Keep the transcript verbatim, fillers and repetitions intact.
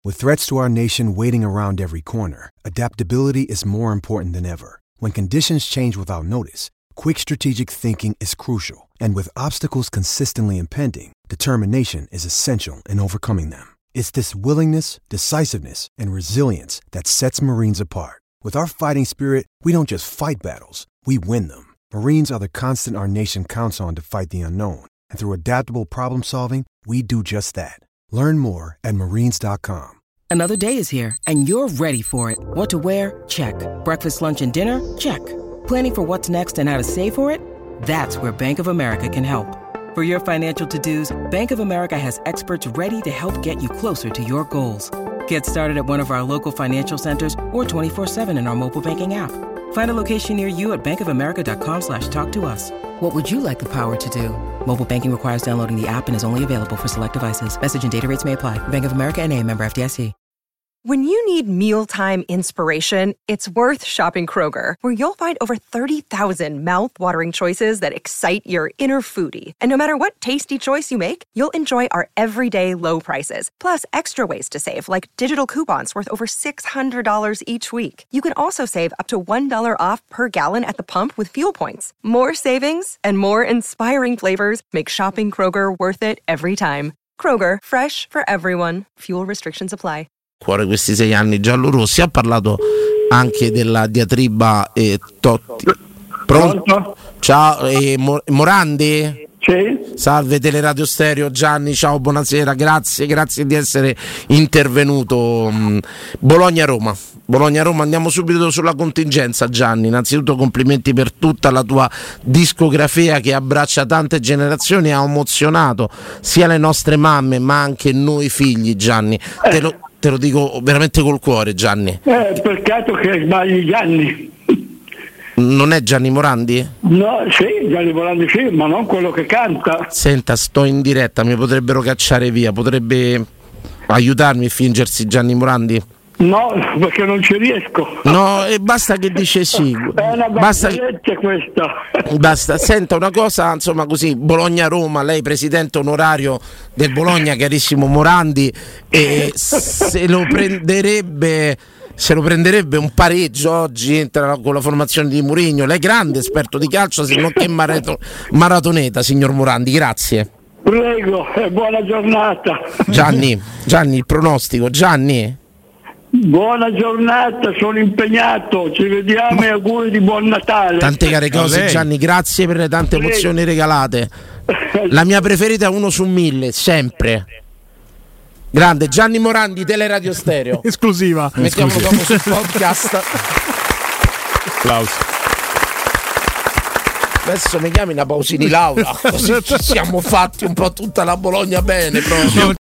With threats to our nation waiting around every corner, adaptability is more important than ever. When conditions change without notice, quick strategic thinking is crucial. And with obstacles consistently impending, determination is essential in overcoming them. It's this willingness, decisiveness, and resilience that sets Marines apart. With our fighting spirit, we don't just fight battles, we win them. Marines are the constant our nation counts on to fight the unknown. And through adaptable problem solving, we do just that. Learn more at marines dot com. Another day is here, and you're ready for it. What to wear? Check. Breakfast, lunch, and dinner? Check. Planning for what's next and how to save for it? That's where Bank of America can help. For your financial to-dos, Bank of America has experts ready to help get you closer to your goals. Get started at one of our local financial centers or twenty-four seven in our mobile banking app. Find a location near you at bankofamerica.com slash talk to us. What would you like the power to do? Mobile banking requires downloading the app and is only available for select devices. Message and data rates may apply. Bank of America N A, member F D I C. When you need mealtime inspiration, it's worth shopping Kroger, where you'll find over thirty thousand mouth-watering choices that excite your inner foodie. And no matter what tasty choice you make, you'll enjoy our everyday low prices, plus extra ways to save, like digital coupons worth over six hundred dollars each week. You can also save up to one dollar off per gallon at the pump with fuel points. More savings and more inspiring flavors make shopping Kroger worth it every time. Kroger, fresh for everyone. Fuel restrictions apply. Cuore questi sei anni giallorossi. Ha parlato anche della diatriba eh, Totti. Pronto? Pronto? Ciao, eh, Morandi? Sì. Salve Teleradio Stereo, Gianni, ciao, buonasera, grazie, grazie di essere intervenuto. Bologna-Roma, Bologna-Roma, andiamo subito sulla contingenza. Gianni, innanzitutto complimenti per tutta la tua discografia che abbraccia tante generazioni, ha emozionato sia le nostre mamme ma anche noi figli, Gianni. Eh. Te lo, te lo dico veramente col cuore, Gianni. Eh, peccato che sbagli Gianni. Non è Gianni Morandi? No, sì, Gianni Morandi sì, ma non quello che canta. Senta, sto in diretta, mi potrebbero cacciare via, potrebbe aiutarmi a fingersi Gianni Morandi? No, perché non ci riesco. No, e basta che dice sì. È una basta questa. Basta, senta una cosa, insomma, così, Bologna-Roma, lei presidente onorario del Bologna, carissimo Morandi, e se lo prenderebbe... Se lo prenderebbe un pareggio oggi, entra con la formazione di Mourinho. Lei è grande esperto di calcio, se non che marato- maratoneta, signor Morandi, grazie. Prego, e buona giornata. Gianni, Gianni, il pronostico, Gianni. Buona giornata, sono impegnato, ci vediamo e auguri di buon Natale. Tante care cose, Gianni, grazie per le tante Prego. emozioni regalate. La mia preferita è uno su mille, sempre. Grande Gianni Morandi, Teleradio Stereo. Esclusiva. Mettiamolo dopo sul podcast. Applausi. Adesso mi chiami una Pausini Laura, così ci siamo fatti un po' tutta la Bologna bene proprio.